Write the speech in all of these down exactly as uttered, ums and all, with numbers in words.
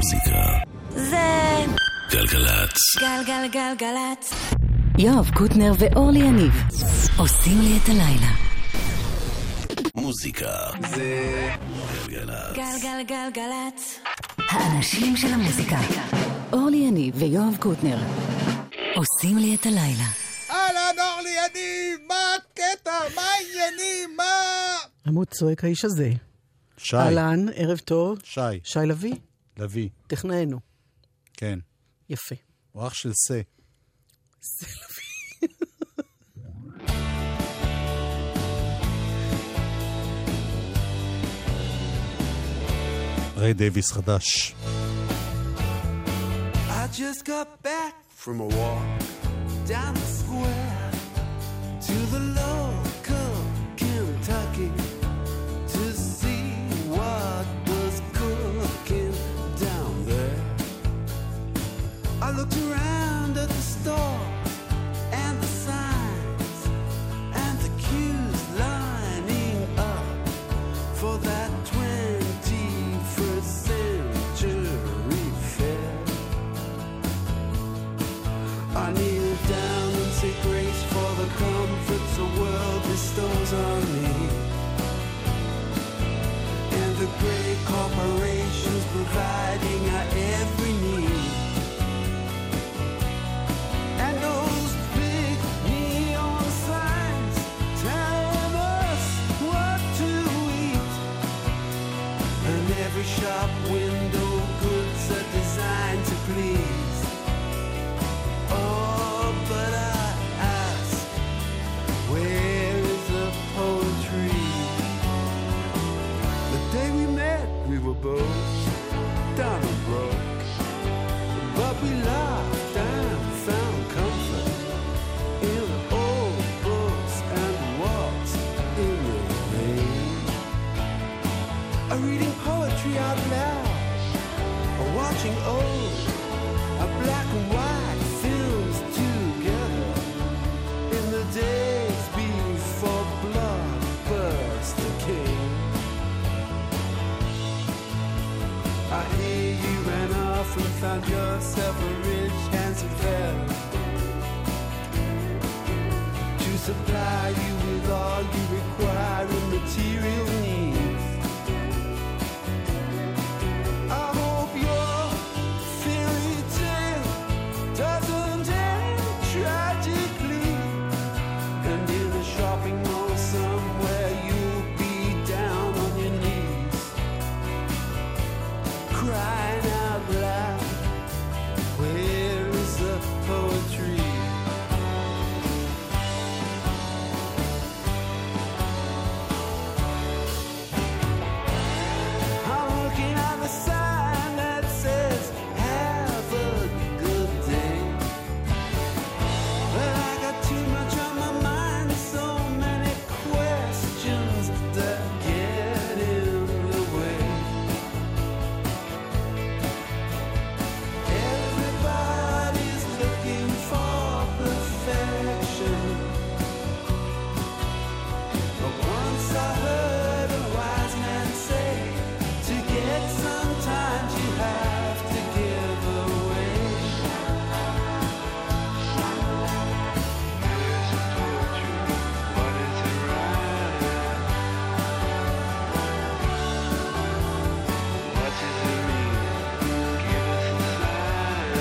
המוזיקה זה גלגלצ. גלגלגלגלצ. יואב קוטנר ואורלי יניב עושים לי את הלילה. מוזיקה זה גלגלצ. גלגלגלגלצ. האנשים של המוזיקה. אורלי יניב ויואב קוטנר עושים לי את הלילה. אהלן אורלי יניב, מה הקטע? מה העניינים? מה? עמוד צועק האיש הזה. שי. אהלן, ערב טוב. שי. שי לוי? לוי. טכנאינו. כן. יפה. הוא אח של סה. זה לוי. ריי דייביס חדש. I just got back from a walk down the square to the local Kentucky to see what was cooking down there. I looked around at the stores and the signs and the queues lining up for that twenty-first century fair. I kneel down and say grace for the comforts the world bestows on me, and the great corporations providing our every need, and those big neon signs telling us what to eat, and every shop window goods are designed to please. Oh, but I ask, where is the poetry? The day we met, we were both down and broke, but we laughed and found comfort in old books and walks in the rain. A reading poetry out loud, or watching old, a black and white films together in the days before Blockbuster came. I hear you ran off and found yourself a rich, handsome fella to supply you with all you require in material needs. I hope your fairy tale doesn't end tragically, and in a shopping mall somewhere you'll be down on your knees, crying out loud, where is the poetry? I'm looking at the sign that says have a good day, but I got too much on my mind, so many questions that get in the way. Everybody's looking for perfection, but once I heard a wise man say, to get sometimes you have to give away. What is it right? What does it mean? Give us a sign.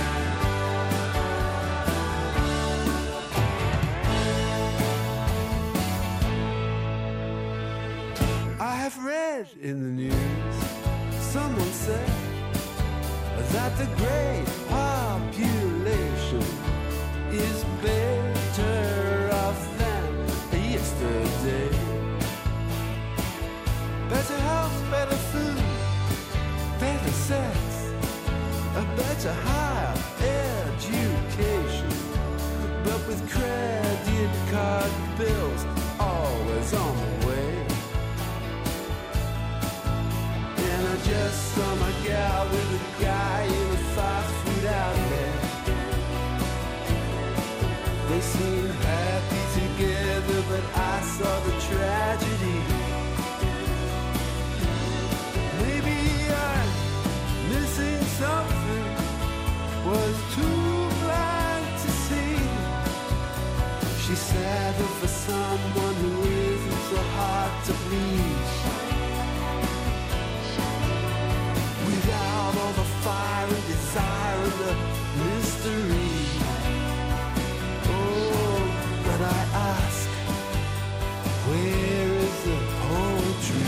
I have read in the news, someone said that the great population is better off than yesterday. Better health, better food, better sex, a better higher education, but with credit card bills always on the way. And I just saw my gal with a guy in a fast food outlet. They seemed happy together, but I saw the tragedy. Maybe I'm missing some mystery. Oh, but I ask, where is the poetry?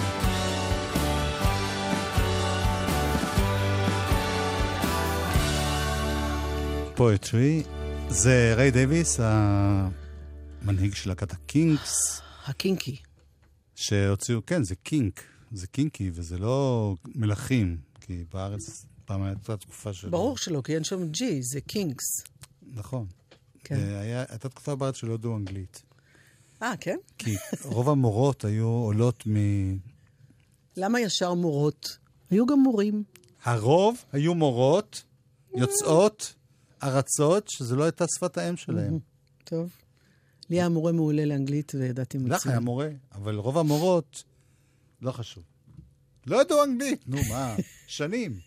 פואטרי זה ריי דייוויס, המנהיג של להקת הקינקס, הקינקי. שהוציאו, כן, זה קינק, זה קינקי, וזה לא מלכים, כי בארץ פעם הייתה תקופה של... ברור שלא, כי אין שם ג'י, זה קינקס. נכון. כן. היה, הייתה תקופה בארץ שלא ידעו אנגלית. אה, כן? כי רוב המורות היו עולות מ... למה ישר מורות? היו גם מורים. הרוב היו מורות, יוצאות, ארצות, שזה לא הייתה שפת האם שלהם. טוב. לי היה מורה מעולה לאנגלית וידעתי מצוין. לך היה מורה, אבל רוב המורות, לא חשוב. לא ידעו אנגלית, נו מה, שנים.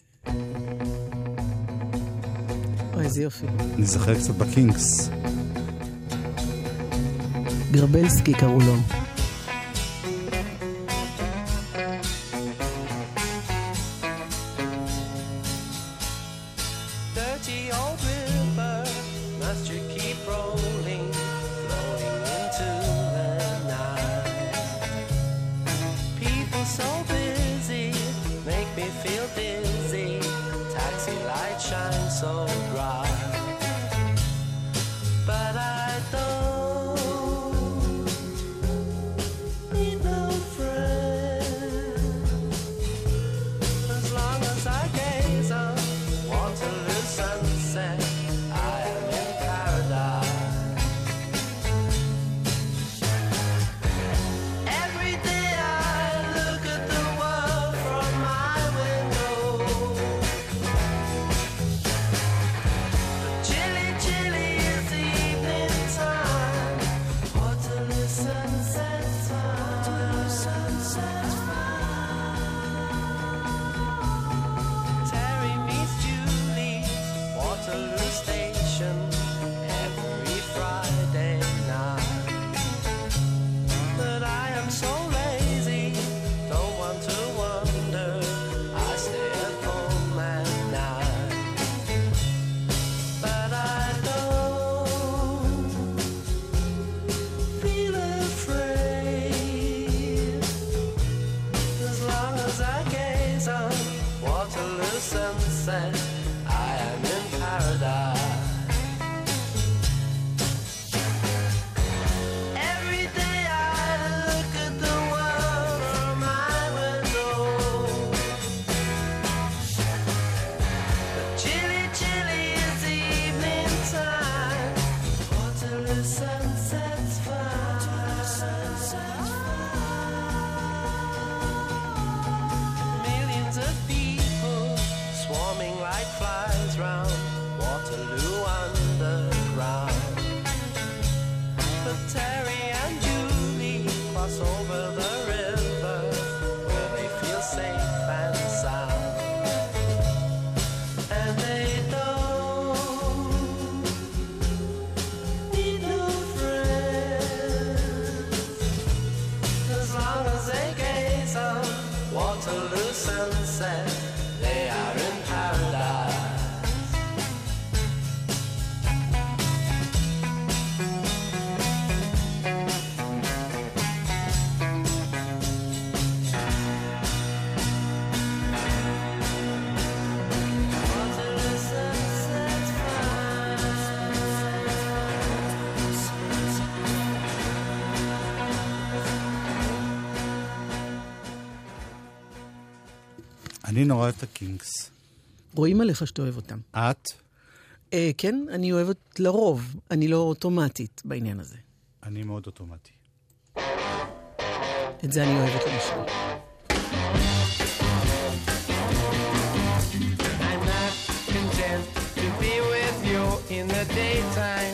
אוי, איזה יופי. אני זוכר קצת בקינגס. גרבלסקי קראו לו. אני נורא אוהב את הקינגס. רואים עליך שאתה אוהב אותם. את? אה, כן, אני אוהבת לרוב. אני לא אוטומטית בעניין הזה. אני מאוד אוטומטי. את זה אני אוהבת למשל. I'm not content to be with you in the daytime.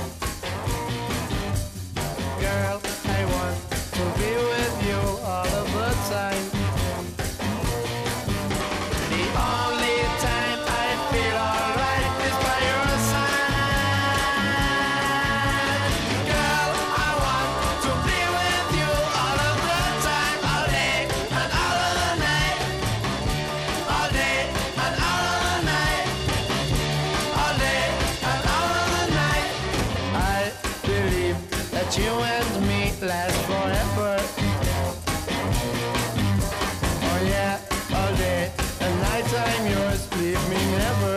Girl, I want to be with you all of the time. The only time I feel alright is by your side. Girl, I want to be with you all of the time, all day, I'm yours, leave me never.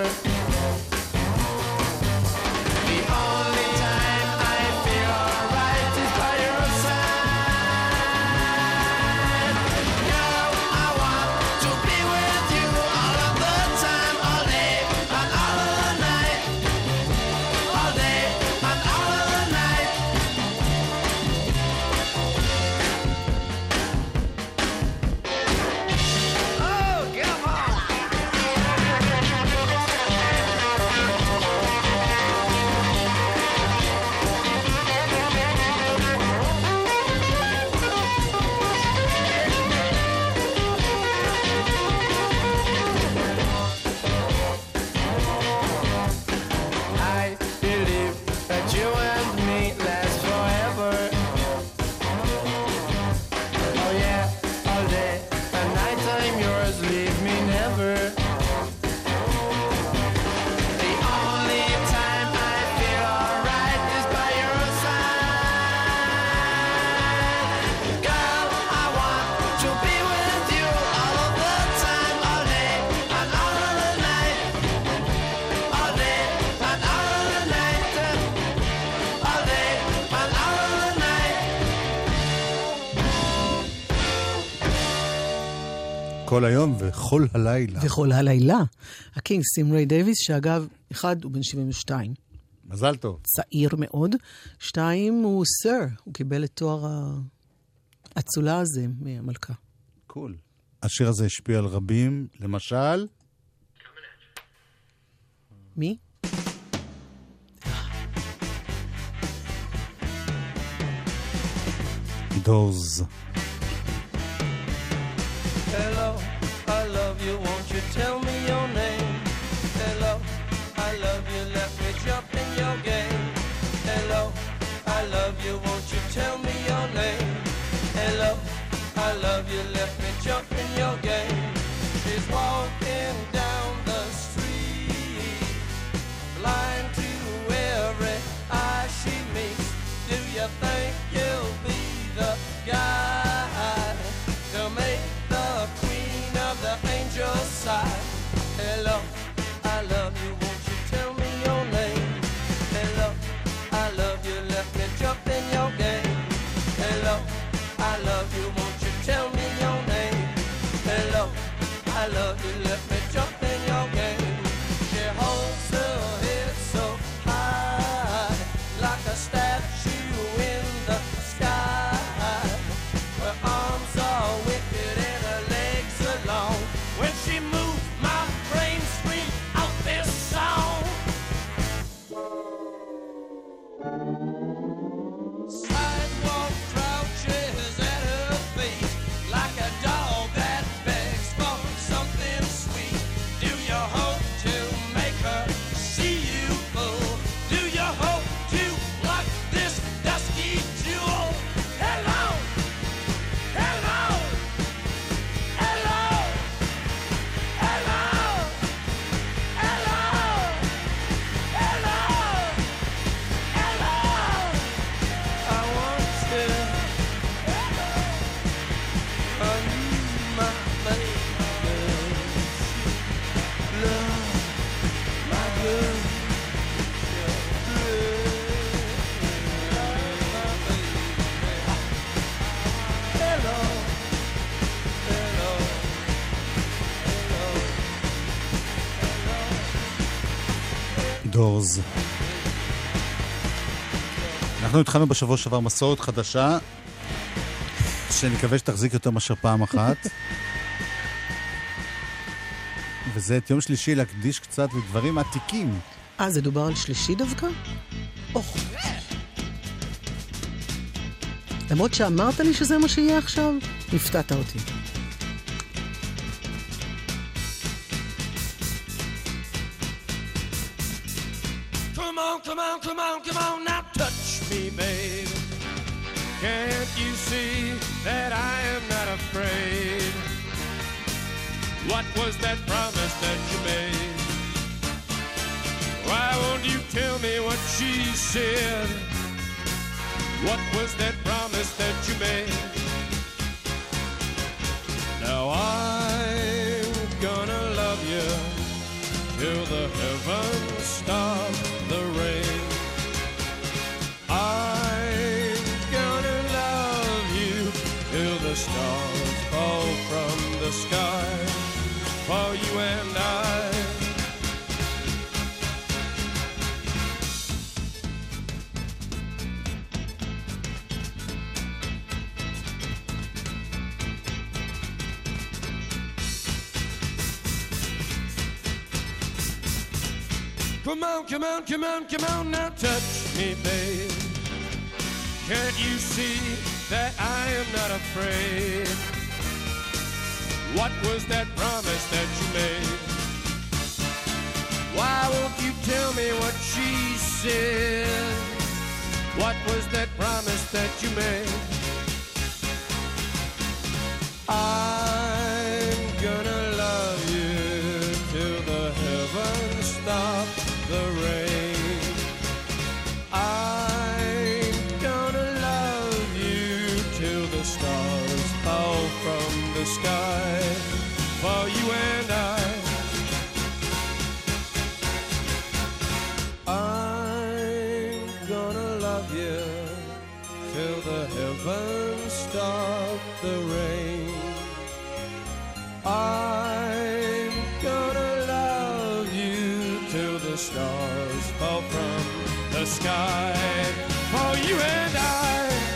The only time I feel alright is by your side. Girl, I want to be with you all of the time, all day and all of the night. All day and all of the night. Oh, come on. I believe that you and me last forever. Oh yeah, all day and night I'm yours, leave me never. The only time I feel alright is by your side. Girl, I want to be with you all of the time, all day and all of the night. All day and all of the night. All day and all of the night. כל היום וכל הלילה. וכל הלילה. הקינג סים ריי דייוויס, שאגב, אחד הוא בן שבעים ושתיים. מזל טוב. צעיר מאוד. שתיים הוא סר, הוא קיבל את תואר האצולה הזה מהמלכה. קול. השיר הזה השפיע על רבים, למשל... מי? דורס. Hello, I love you, won't you tell me your name? Hello, I love you, let me jump in your game. Hello, I love you, won't you tell me your name? Hello, I love you, let me jump in your game. She's walking down the street, blind to every eye she meets. Do you think you'll be the guy to make the queen of the angels sigh? Hello, I love you, won't you tell me your name? Hello, I love you, let me jump in your game. Hello, I love you, won't you tell me your name? Hello, I love you, let me jump in your game. She holds her head so high, like a statue in the sky. Her arms are wicked and her legs are long. When she moves, my brain screams out this song. Sidewalk crouches at her feet, like a dog that begs for something sweet. Do you hope to make her see you, fool? Do you hope to lock this dusky jewel? Hello, hello, hello, hello, hello, hello, hello. I want to undo my makeup, love my good. Hello, hello, hello. דורס. אנחנו התחלנו בשבוע שעבר מסורת חדשה, שאני מקווה שתחזיק יותר מאשר פעם אחת. וזה את יום שלישי להקדיש קצת לדברים עתיקים. אה, זה דובר על שלישי דווקא? אוח. למרות שאמרת לי שזה מה שיהיה עכשיו, הפתעת אותי. Come on, come on, come on, come on, now touch me, babe. Can't you see that I am not afraid? What was that promise that you made? Why won't you tell me what she said? What was that promise that you made? Now I'm gonna love you you till the heavens stop the rain. I'm gonna love you till the stars fall from the sky for you and I. Come on, come on, come on, come on, now touch me, babe. Can't you see that I am not afraid? What was that promise that you made? Why won't you tell me what she said? What was that promise that you made? I'm gonna love you till the heavens stop the rain. I'm gonna love you till the stars fall from the sky for you and I. I'm gonna love you till the heavens stop the rain. I'm gonna love you till the stars fall from the sky for you and I.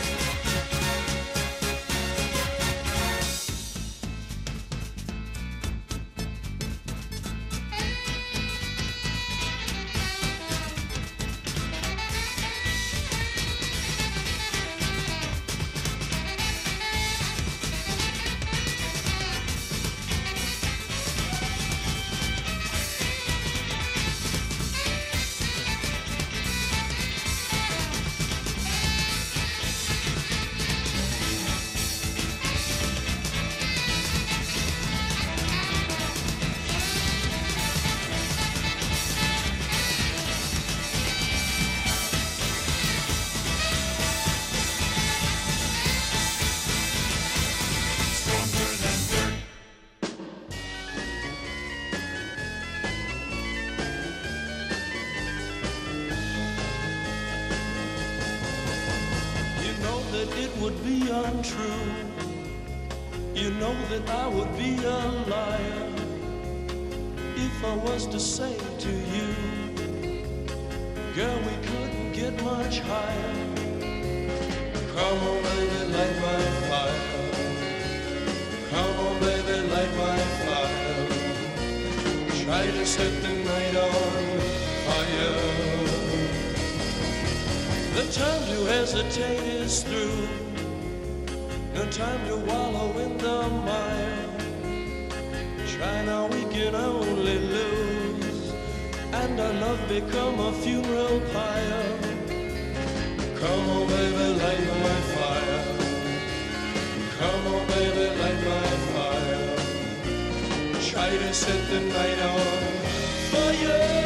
It would be untrue. You know that I would be a liar if I was to say to you, girl, we couldn't get much higher. Come on, baby, light my fire. Come on, baby, light my fire. Try to set the night on fire. The time to hesitate is through. No time to wallow in the mire. Try now, we can only lose, and our love become a funeral pyre. Come on, baby, light my fire. Come on, baby, light my fire. Try to set the night on fire.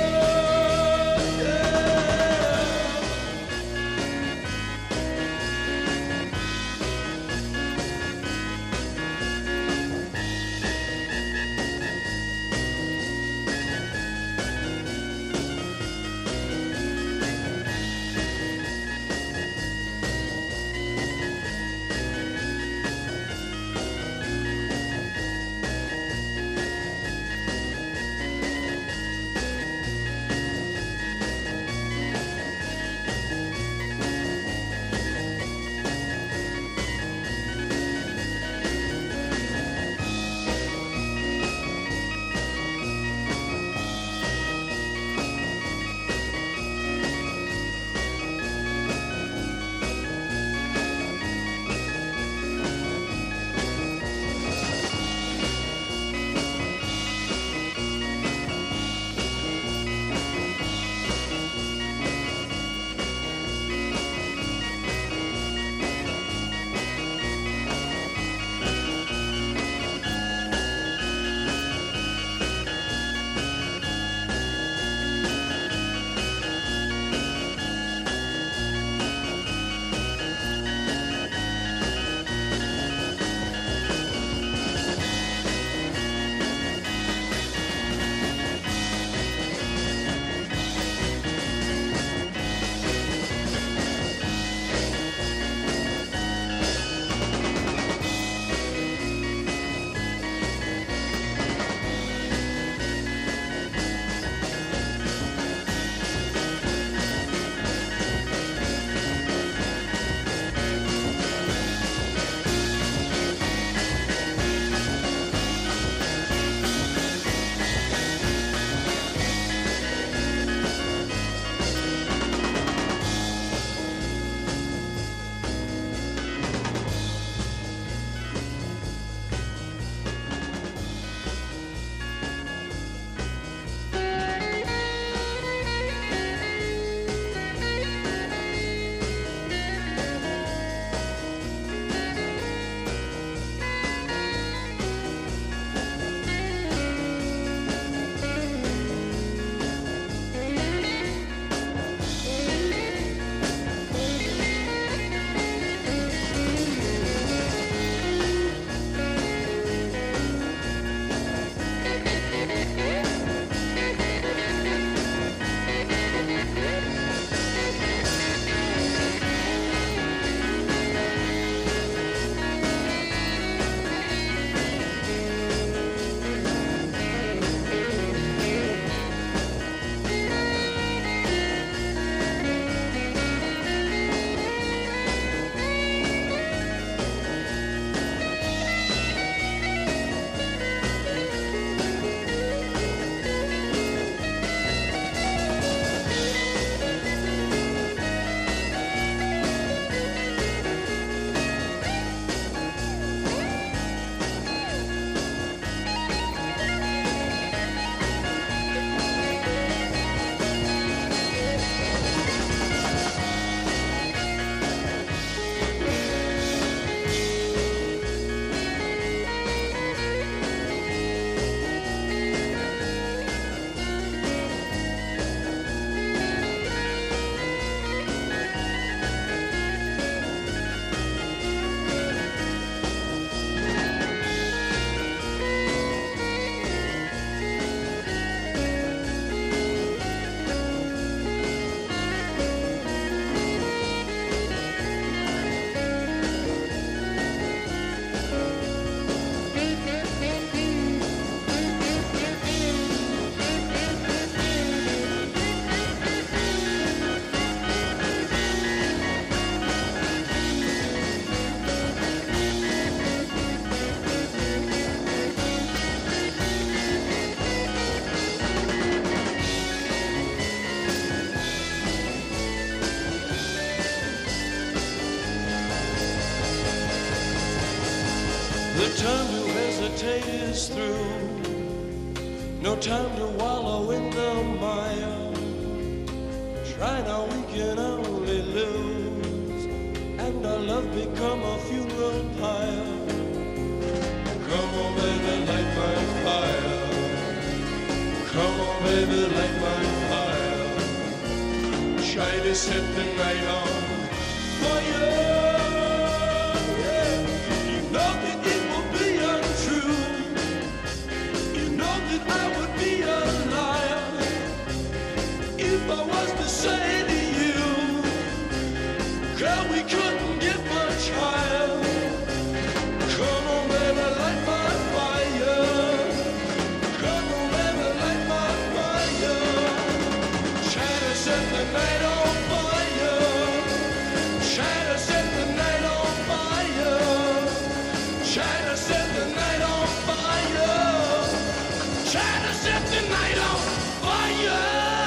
hesitate is through. No time to wallow in the mire. Try now, we can only lose, and our love become a funeral pyre. Come on, baby, light my fire. Come on, baby, light my fire. Try to set the night on fire. Yeah. You know that it will be untrue. You know that I would be a liar if I was to say to you, girl, we couldn't get much higher. Come on, baby, light my fire. Come on, baby, light my fire. Try to set the night on fire. Try to set the night on fire. Try to set the night on fire. Try to set the night on fire.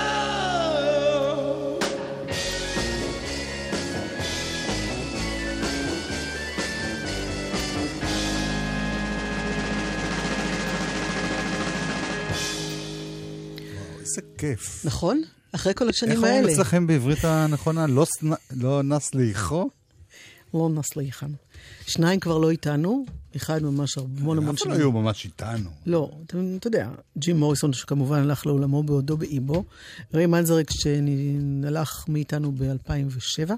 איזה כיף. נכון? אחרי כל השנים איך האלה. אומרים אצלכם בעברית הנכונה? לא, סנ- לא נס לאיכו? לא נס ליחן. שניים כבר לא איתנו, אחד ממש המון המון אף לא שנים. היו ממש איתנו. לא, אתה, אתה יודע, ג'ים מוריסון שכמובן הלך לעולמו בעודו באיבו, ריי מנזריק שהלך מאיתנו ב-אלפיים ושבע,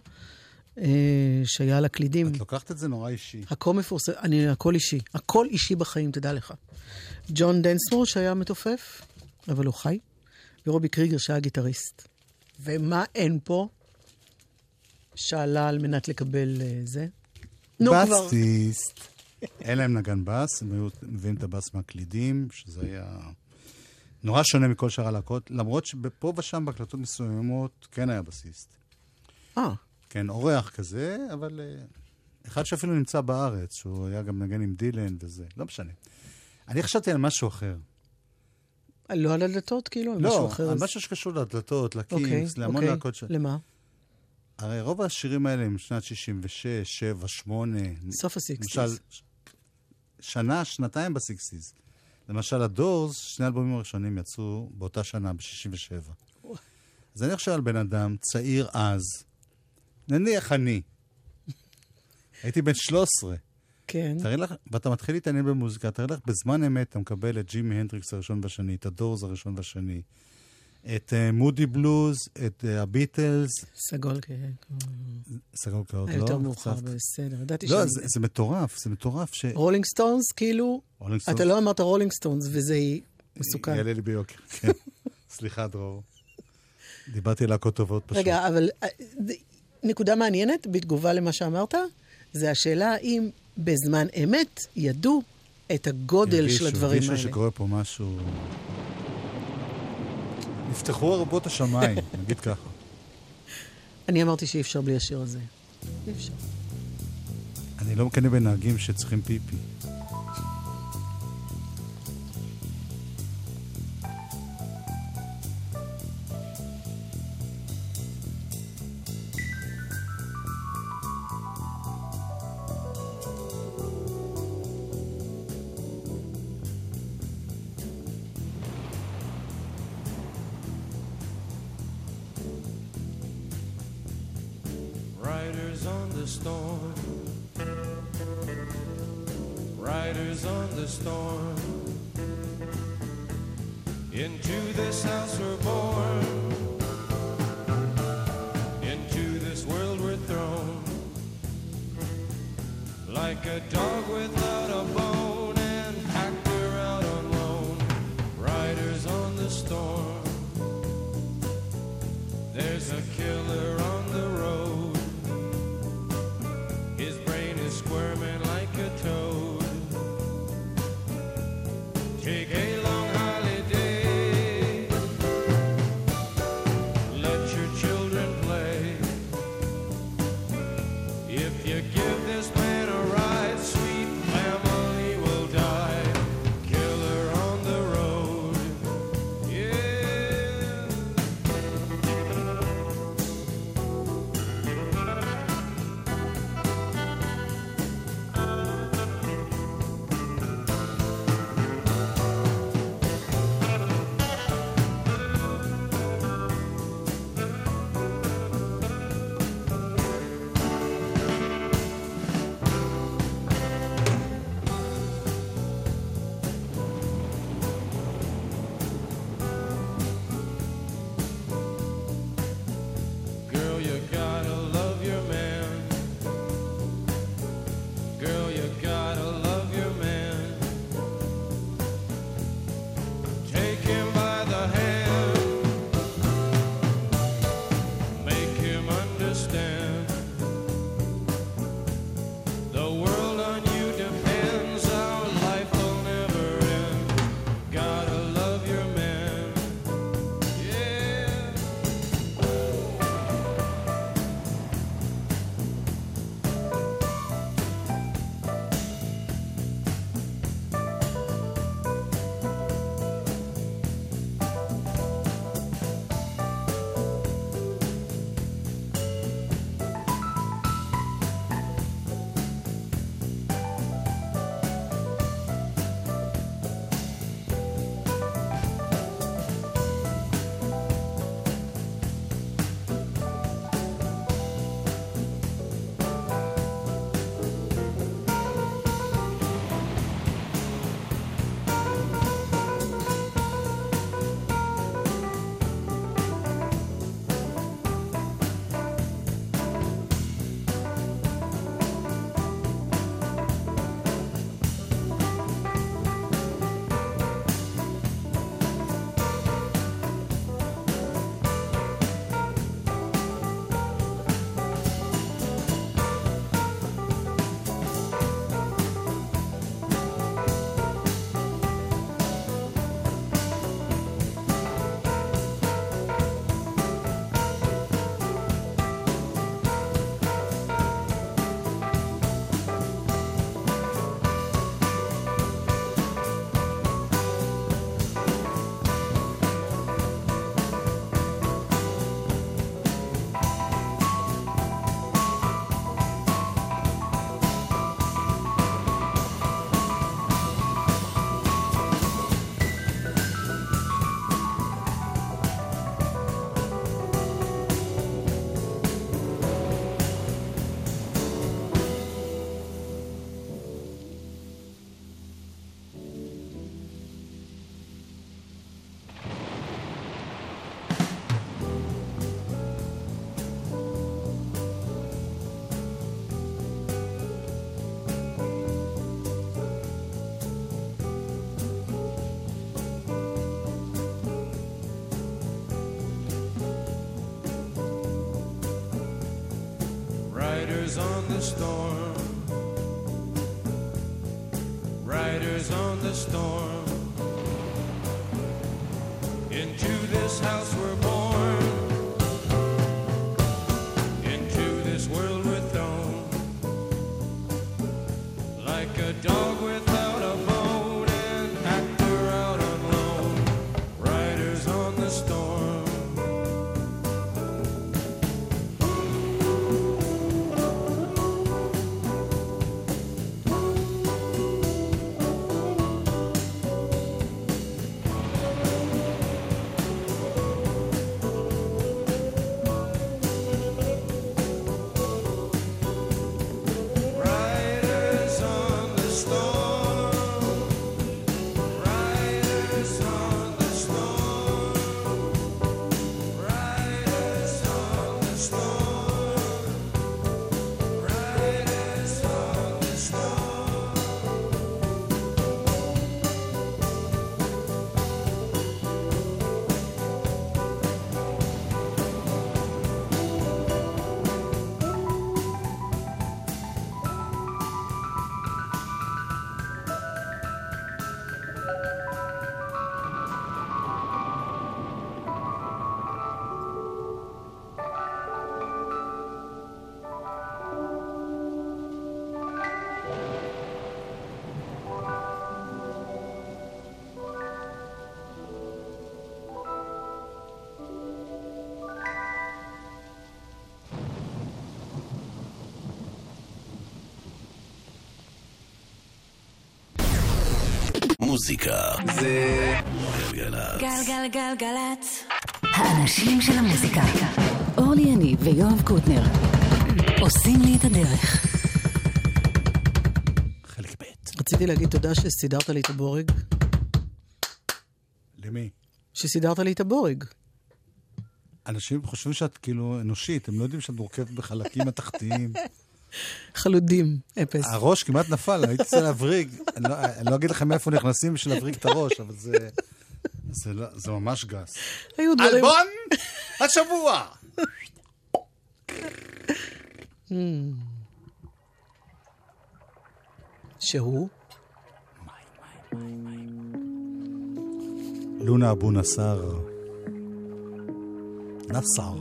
שהיה על הקלידים. את לוקחת את זה נורא אישי. הכל מפורסם, אני, הכל אישי. הכל אישי בחיים, תדע לך. ג'ון דנסמור שהיה מתופף, אבל הוא חי, ורובי קריגר שהיה גיטריסט. ומה אין פה? שאלה על מנת לקבל uh, זה. נו כבר. בסיסט. אין להם נגן בס, הם היו מביאים את הבס מהקלידים, שזה היה נורא שונה מכל שאר הלהקות, למרות שפה ושם בהקלטות מסוימות כן היה בסיסט. אה. כן, אורח כזה, אבל uh, אחד שאפילו נמצא בארץ, שהוא היה גם נגן עם דילן וזה, לא משנה. אני חשבתי על משהו אחר. לא על הדלתות, כאילו? על משהו לא, אחר, על אז... משהו שקשור לדלתות, לקינגס, אוקיי, להמון אוקיי. להקות של... למה? הרי רוב השירים האלה הם שנת שישים ושש, שבע, שמונה. סוף הסיקסטיז. למשל, שנה, שנתיים בסיקסטיז. למשל, הדורס, שני אלבומים הראשונים יצאו באותה שנה, ב-שישים ושבע. אז אני חושב על בן אדם צעיר אז, נניח אני. הייתי בן שלוש עשרה. כן. תראי לך, ואתה מתחיל להתעניין במוזיקה, תראי לך, בזמן אמת אתה מקבל את ג'ימי הנדריקס הראשון והשני, את הדורס הראשון והשני, את מודי בלוז, את הביטלס. סגול כן. סגול כאוד, לא? יותר מאוחר, בסדר. ידעתי לא, זה מטורף, זה מטורף ש... רולינג סטונס, כאילו, אתה לא אמרת רולינג סטונס, וזה מסוכן. יעלה לי ביוקר, כן. סליחה, דרור. דיברתי על להקות טובות פשוט. רגע, אבל נקודה מעניינת, בתגובה למה שאמרת, זה השאלה האם בזמן אמת ידעו את הגודל של הדברים האלה. הרגישו שקורה פה משהו... נפתחו הרבות השמיים, נגיד ככה. אני אמרתי שאי אפשר בלי השיר הזה. אי אפשר. אני לא מקנה בנהגים שצריכים פיפי. Riders on the storm, riders on the storm. Into this house we're born, into this world we're thrown, like a dog without a bone and hacked her out on loan. Riders on the storm, there's a killer on the road. Squirming like a toad. Take a long holiday. Let your children play. If you give this man a ride, sweet family will die. Killer on the road. Yeah. Riders on the storm, riders on the storm. Into this house we're born, into this world we're thrown, like a dog without a bone, an actor out on loan. Riders on the storm. מוזיקה זה גלגלצ. גלגלגלגלצ. האנשים של המוזיקה. אורלי יניב ויואב קוטנר עושים לי את הדרך. חלק ב'. רציתי להגיד תודה שסידרת לי את הבורג. למי? שסידרת לי את הבורג. אנשים חושבים שאת כאילו אנושית, הם לא יודעים שאת מורכבת בחלקים התחתיים. חלודים, אפס. הראש כמעט נפל, הייתי צריך להבריג. אני לא, אני לא אגיד לכם איפה נכנסים בשביל להבריג את הראש, אבל זה, זה, לא, זה ממש גס. היו דברים... אלבון השבוע! שהוא? לונה אבו נסר. נסר.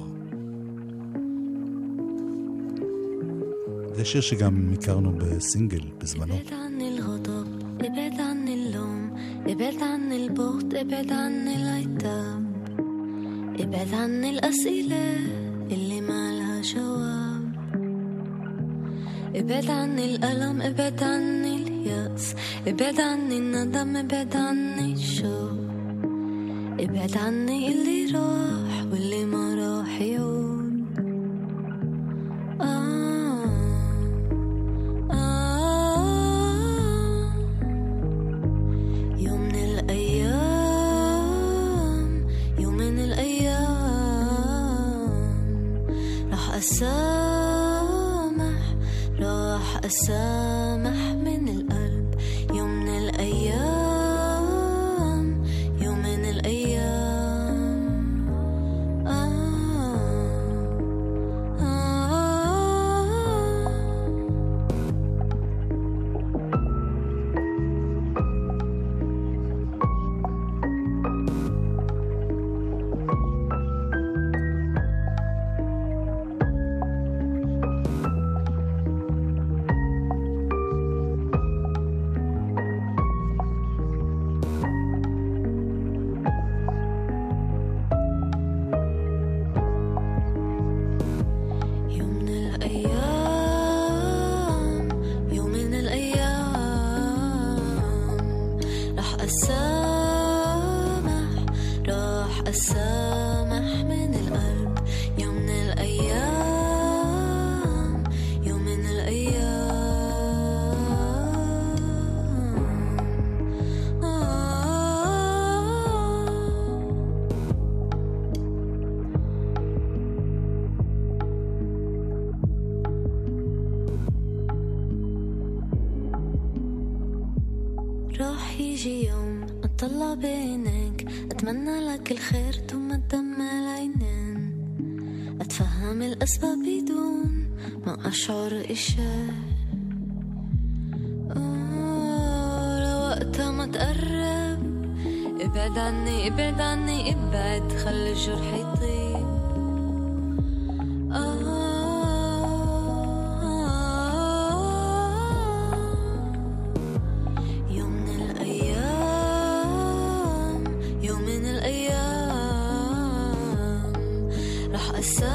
זה שיר שגם הכרנו בסינגל בזמנו. ابعد عن الغضب ابعد عن اللوم ابعد عن البغض ابعد عن العتاب ابعد عن الأسئلة اللي ما لها جواب ابعد عن الألم ابعد عن اليأس ابعد عن الندم ابعد عن الشوق ابعد عني اللي راح واللي ما راح يعود أسامح راح أسامح من القلب يوم من الأيام يوم من الأيام آه آه راح يجي يوم أطلع بينك أتمنى لك الخير ثم الدم العينين أتفهم الأسباب بدون ما أشعر إشي آه لوقتها ما تقرب ابعد عني ابعد عني ابعد خلي الجرح يطيب آه يوم من الأيام يوم من الأيام رح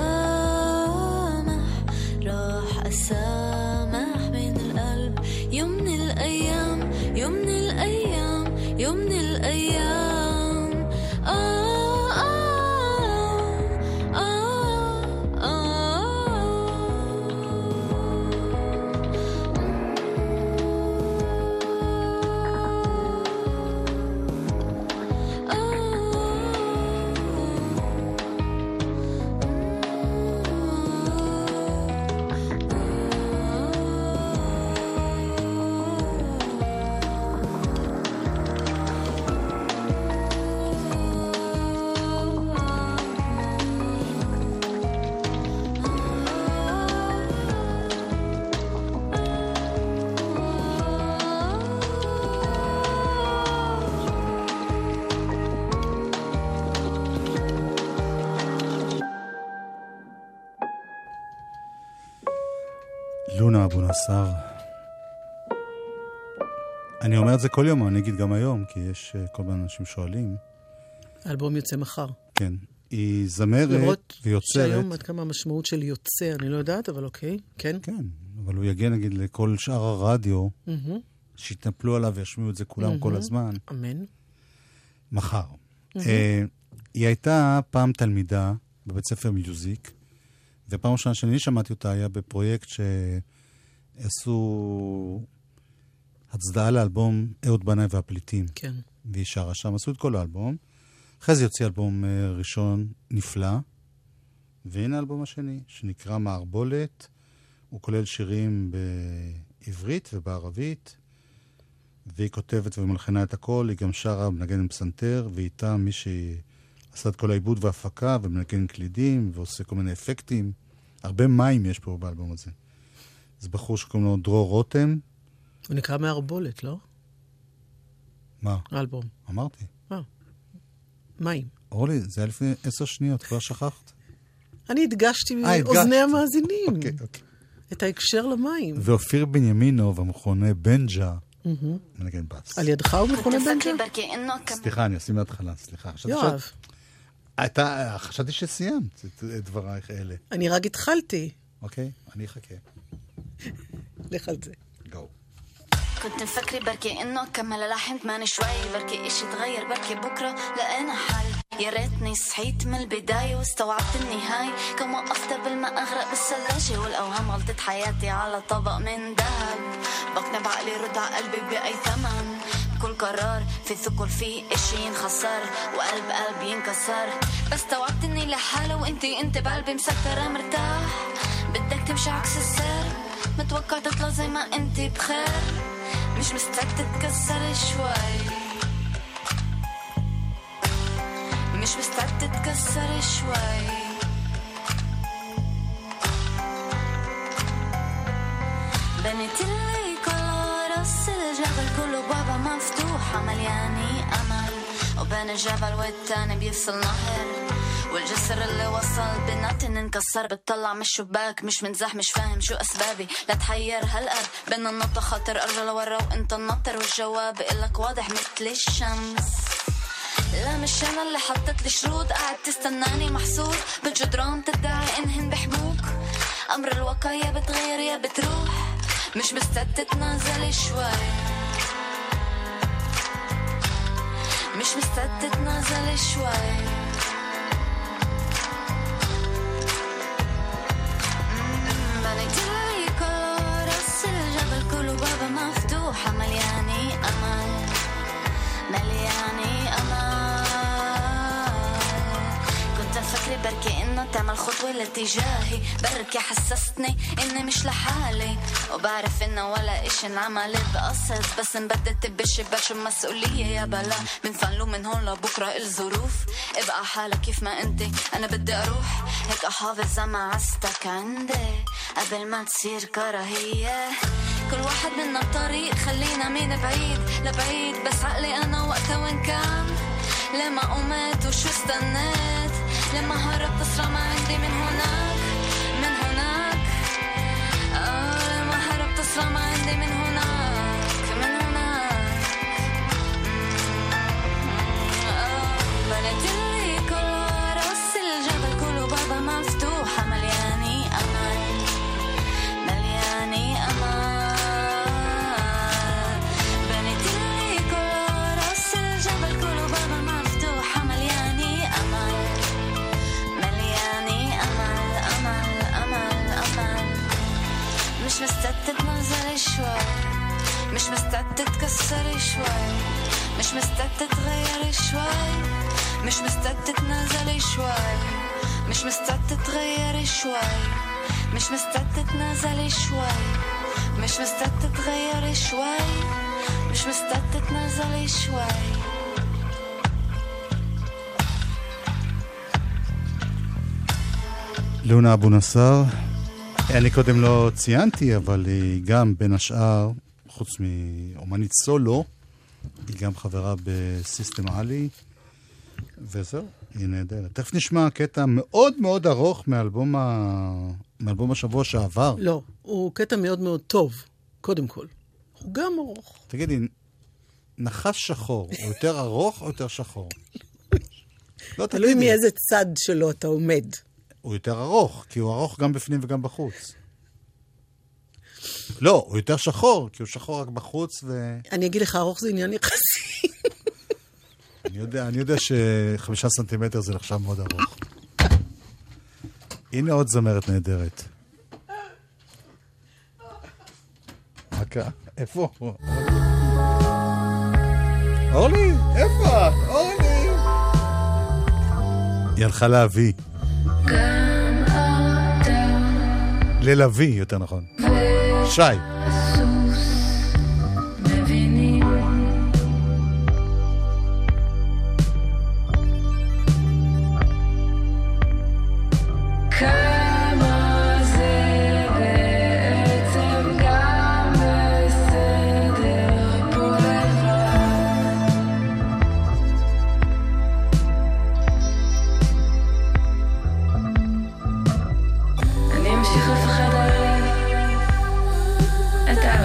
أسامح رح أسامح من القلب يوم من الأيام يوم من الأيام يوم من الأيام آه לונה אבו נסר. אני אומר את זה כל יום, אני אגיד גם היום, כי יש כל מיני אנשים שואלים. האלבום יוצא מחר. כן. היא זמרת ויוצרת. למרות שהיום עד כמה המשמעות של יוצא, אני לא יודעת, אבל אוקיי, כן. כן, אבל הוא יגיע נגיד לכל שאר הרדיו, Mm-hmm. שיתנפלו עליו וישמיעו את זה כולם Mm-hmm. כל הזמן. אמן. מחר. Mm-hmm. אה, היא הייתה פעם תלמידה בבית ספר מיוזיק, ופעם ראשונה שאני שמעתי אותה היה בפרויקט שעשו הצדעה לאלבום אהוד בנאי והפליטים. כן. והיא שרה שם, עשו את כל האלבום. אחרי זה יוציא אלבום ראשון נפלא, והנה האלבום השני, שנקרא מערבולת. הוא כולל שירים בעברית ובערבית, והיא כותבת ומלחנה את הכל, היא גם שרה, מנגן עם פסנתר, ואיתה מי שעשה את כל העיבוד וההפקה, ומנגן קלידים, ועושה כל מיני אפקטים. הרבה מים יש פה באלבום הזה. זה בחור שקוראים לו דרור רותם. הוא נקרא מערבולת, לא? מה? האלבום. אמרתי. אה. מים. אורלי, זה היה לפני עשר שניות, כבר שכחת. אני הדגשתי אה, מאוזני המאזינים. אוקיי, אוקיי. את ההקשר למים. ואופיר בנימינוב, המכונה בנג'ה, מנגן בס. על ידך הוא מכונה בנג'ה? סליחה, אני אשים מההתחלה, סליחה. יואב. אתה, חשבתי שסיימת את דברייך אלה. אני רק התחלתי. אוקיי, אני אחכה. לך על זה. גו. كنت مفكري بركي انه كمل لحن ثماني شوي بركي اشي تغير بركي بكره لقينا حل يا ريتني صحيت من البدايه واستوعبت النهايه كم وقفت قبل ما اغرق بالثلاجه والاوهام غلطت حياتي على طبق من ذهب بقنع بعقلي رد على قلبي باي ثمن كل قرار في ثقل فيه اشي ينخسر وقلب قلبي ينكسر بس استوعبت اني لحالي وانتي انت بقلبي مسكره مرتاح بدك تمشي عكس السير متوقع تطلع زي ما انتي بخير مش مستعد تتكسر شوي مش مستعد تتكسر شوي بنيت لي كل راس الجبل كله بابا مفتوحة ملياني أمل وبين الجبل والتاني بيفصل نهر والجسر اللي وصل بيناتن انكسر بتطلع من الشباك مش منزح مش فاهم شو أسبابي لا تحير هالقلب بين النطة خاطر أرجع لورا وانت النطر والجواب بقلك واضح مثل الشمس لا مش أنا اللي حطت لي شروط قاعد تستناني محصور بالجدران تدعي إنهن بحموك أمر الواقع يا بتغير يا بتروح مش مستعد تتنازل شوي مش مستعد تتنازل شوي بنيتلي كل راس الجبل كله بابا مفتوحة ملياني أمل ملياني أمل كنت أفكر بركي إنه تعمل خطوة لاتجاهي بركي حسستني إني مش لحالي وبعرف إنه ولا إشي انعمل بقصد بس انبدت بالشباش المسؤولية يا بلا بنفنلو من هون لبكرة الظروف ابقى حالك كيف ما انتي أنا بدي أروح هيك أحافظ على معزتك عندي قبل ما تصير كراهية كل واحد منا بطريق خلينا من بعيد لبعيد بس عقلي أنا وقتها وين كان لما قمت وشو استنيت لما هربت أسرع ما عندي من هناك من هناك آه لما هربت أسرع ما عندي من هناك من هناك آه بنت اللي كل راس الجبل كله بابا مفتوحة ملياني أمل ملياني أمل بنت اللي كل راس الجبل كله بابا مفتوحة ملياني أمل ملياني أمل أمل أمل أمل مش مستعد تتنازل شوي مش مستعد تتكسر شوي مش مستعد تتغير شوي مش مستعد تتنازل شوي مش مستعد تتغير شوي مش مستعد تتنازل شوي مش مستعد تتغير شوي مش مستعد تتنازل شوي לונה אבו נסאר, אני קודם לא ציינתי, אבל היא גם בין השאר, חוץ מאומנית סולו, היא גם חברה בסיסטם עלי, וזהו, היא נהדרת. תכף נשמע קטע מאוד מאוד ארוך מאלבום, ה... מאלבום השבוע שעבר. לא, הוא קטע מאוד מאוד טוב, קודם כל. הוא גם ארוך. תגידי, נחש שחור, הוא יותר ארוך או יותר שחור? לא, תלוי מאיזה צד שלו אתה עומד. הוא יותר ארוך, כי הוא ארוך גם בפנים וגם בחוץ. לא, הוא יותר שחור, כי הוא שחור רק בחוץ ו... אני אגיד לך, ארוך זה עניין יחסי. אני יודע, אני יודע שחמישה סנטימטר זה נחשב מאוד ארוך. הנה עוד זמרת נהדרת. מה? איפה? אורלי, איפה? אורלי! היא הלכה להביא. ללוי, יותר נכון. שי. את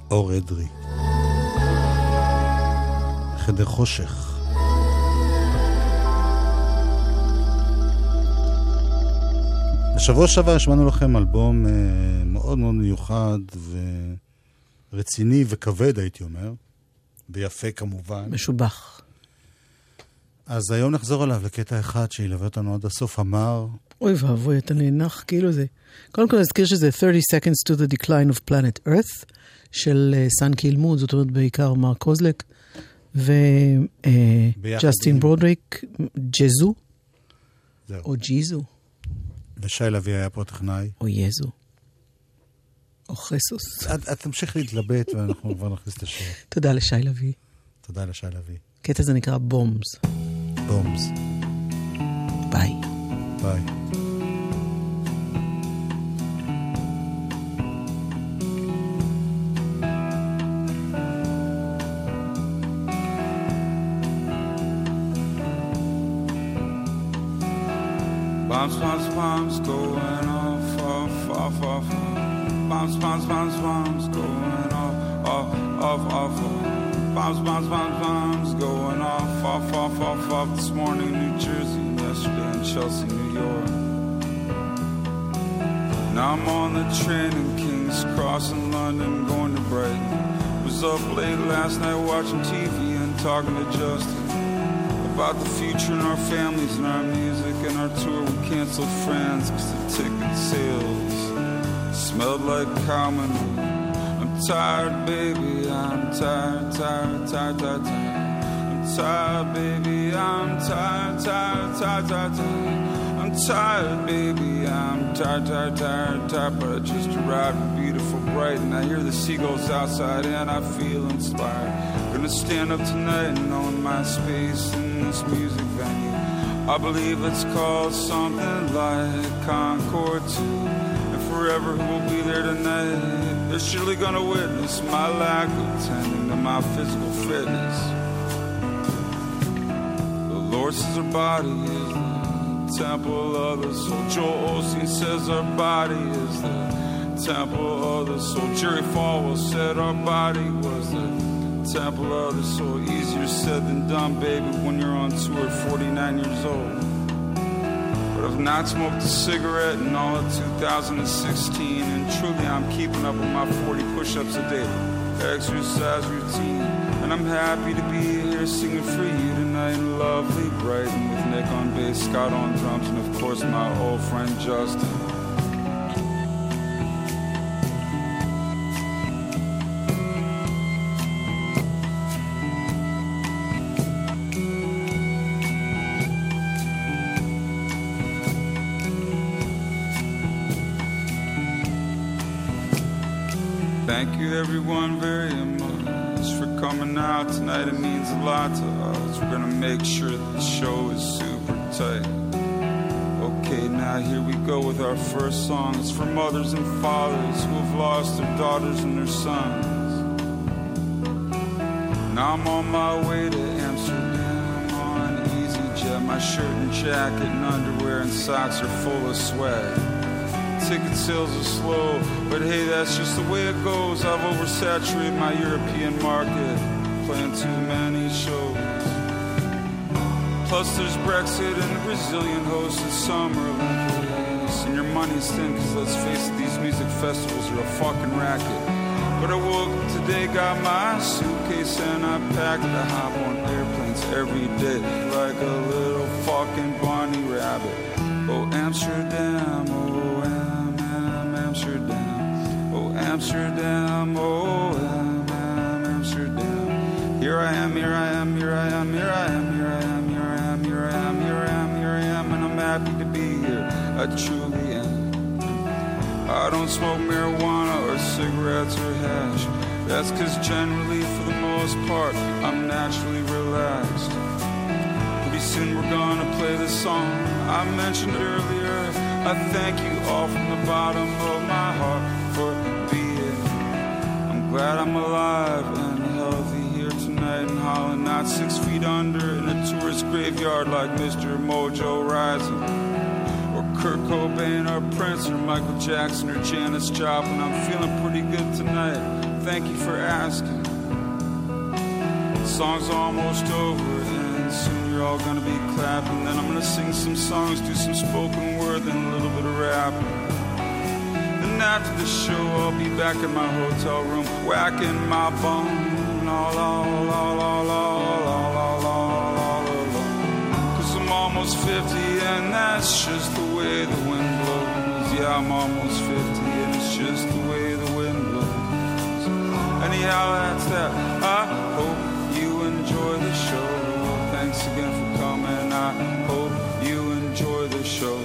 אור אדרי. חדר חושך. בשבוע שעבר השמענו לכם אלבום אה, מאוד מאוד מיוחד ורציני וכבד, הייתי אומר, ויפה כמובן. משובח. אז היום נחזור עליו לקטע אחד שילווה אותנו עד הסוף, אמר... אוי ואבוי, אתה נאנח כאילו זה. קודם כל נזכיר שזה thirty seconds to the decline of planet Earth, של סן קילמוד, זאת אומרת בעיקר מרק קוזלק, וג'סטין ברודריק, ג'זו, או ג'יזו. ושי לוי היה פה טכנאי. או יזו. או חסוס. את תמשיך להתלבט ואנחנו כבר נכניס את השיר. תודה לשי לוי. תודה לשי לוי. קטע זה נקרא בומס. בומס. ביי. ביי. Bombs, bombs, bombs going off, off, off, off. Bombs, bombs, bombs, bombs going off, off, off, off. Bombs, bombs, bombs, bombs going off, off, off, off, off. This morning, New Jersey, yesterday in Chelsea, New York. Now I'm on the train in King's Cross in London, going to Brighton. Was up late last night watching T V and talking to Justin about the future and our families and our music and our tour. We canceled France cause the ticket sales smelled like cow manure. I'm tired, baby, I'm tired, tired, tired, tired, tired. I'm tired, baby, I'm tired, tired, tired, tired, tired. I'm tired, baby, I'm tired, tired, tired, tired. But I just arrived in beautiful Brighton. I hear the seagulls outside and I feel inspired. Gonna stand up tonight and own my space in this music venue. I believe it's called something like Concord two. And forever we'll be there tonight. They're surely gonna witness my lack of tending to my physical fitness. The Lord says our body is the temple of the soul. Joel Osteen says our body is the temple of the soul. Jerry Falwell said our body was the temple of the soul. Easier said than done, baby, when you're on tour at forty-nine years old. But I've not smoked a cigarette in all of two thousand sixteen, and truly I'm keeping up with my forty push-ups a day exercise routine. And I'm happy to be here singing for you tonight in lovely Brighton with Nick on bass, Scott on drums, and of course my old friend Justin. Thank you everyone very much for coming out tonight. It means a lot to us. We're gonna make sure that the show is super tight. Okay, now here we go with our first song. It's for mothers and fathers who have lost their daughters and their sons. Now I'm on my way to Amsterdam on EasyJet. My shirt and jacket and underwear and socks are full of sweat. Ticket sales are slow, but hey, that's just the way it goes. I've oversaturated my European market, playing too many shows. Plus there's Brexit and the Brazilian hosted Summer Olympics. And your money's thin, cause let's face it, these music festivals are a fucking racket. But I woke up today, got my suitcase and I packed to hop on airplanes every day like a little fucking bunny rabbit. Oh, Amsterdam, oh, Am, Am, Amsterdam. Oh, Amsterdam, oh, Am, Am, Amsterdam. Here I am, here I am, here I am, here I am, here I am, here I am, here I am, here I am, here I am, and I'm happy to be here. I truly am. I don't smoke marijuana or cigarettes or hash. That's cause generally, for the most part, I'm naturally relaxed. Pretty soon we're gonna play this song I mentioned earlier. I thank you all from the bottom of my heart for being. I'm glad I'm alive and healthy here tonight in Holland, not six feet under in a tourist graveyard like Mister Mojo Rising, or Kurt Cobain or Prince or Michael Jackson or Janis Joplin. I'm feeling pretty good tonight. thank you for asking. The song's almost over, and soon you're all gonna be clapping. Then I'm gonna sing some songs, do some spoken word, then a little bit of rapping. Then after the show, I'll be back in my hotel room, whacking my bum. La la la la la la la la la. Cause I'm almost fifty, and that's just the way the wind blows. Yeah, I'm almost fifty, and it's just the way the wind blows. Anyhow, that's that. I hope you enjoy the show. Thanks again for coming. I hope you enjoy the show.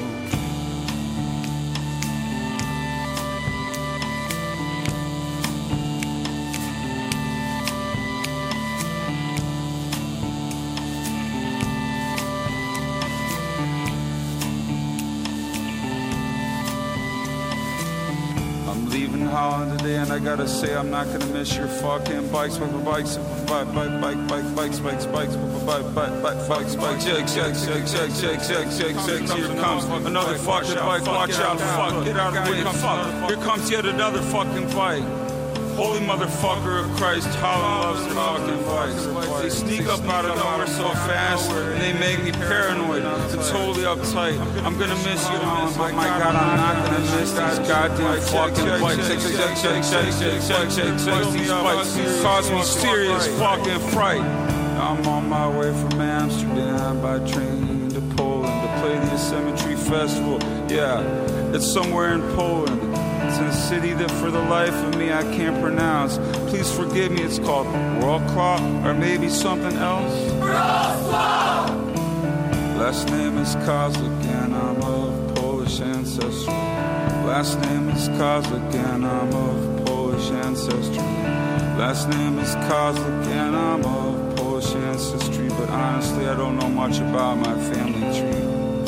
Holland today, and I gotta say I'm not gonna miss your fucking bikes, bikes, bikes, bike, bike, bike, bike, bikes, bikes, bikes, bike, bike, bike, bikes, bikes, shake, shake, shake, shake, shake, shake, shake, shake. Here comes another fucking bike. Watch out, fuck, get out of the way, fuck. Here comes yet another fucking bike. Holy motherfucker of Christ, Holland loves their fucking bikes. They sneak up out of nowhere so fast, and they make me paranoid and totally uptight. I'm gonna miss you, Holland, but my God, I'm not gonna miss these goddamn fucking bikes. Shake, shake, shake, shake, shake, shake, shake, shake. These bikes cause me serious fucking fright. I'm on my way from Amsterdam by train to Poland to play the Symmetry Festival. Yeah, it's somewhere in Poland. It's in a city that for the life of me I can't pronounce. Please forgive me, it's called Wrocław, or maybe something else. Wrocław! Last name is Kozlik, and I'm of Polish ancestry. Last name is Kozlik, and I'm of Polish ancestry. Last name is Kozlik, and I'm of Polish ancestry. But honestly, I don't know much about my family tree.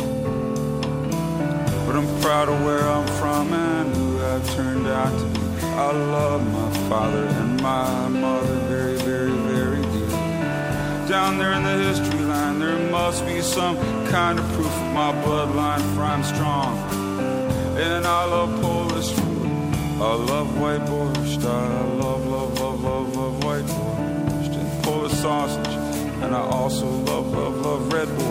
But I'm proud of where I'm from and who I've turned out to be. I love my father and my mother very, very, very dearly. Down there in the history line, there must be some kind of proof of my bloodline, for I'm strong. And I love Polish food. I love white borscht. I love, love, love, love, love white borscht and Polish sausage. And I also love, love, love red borscht.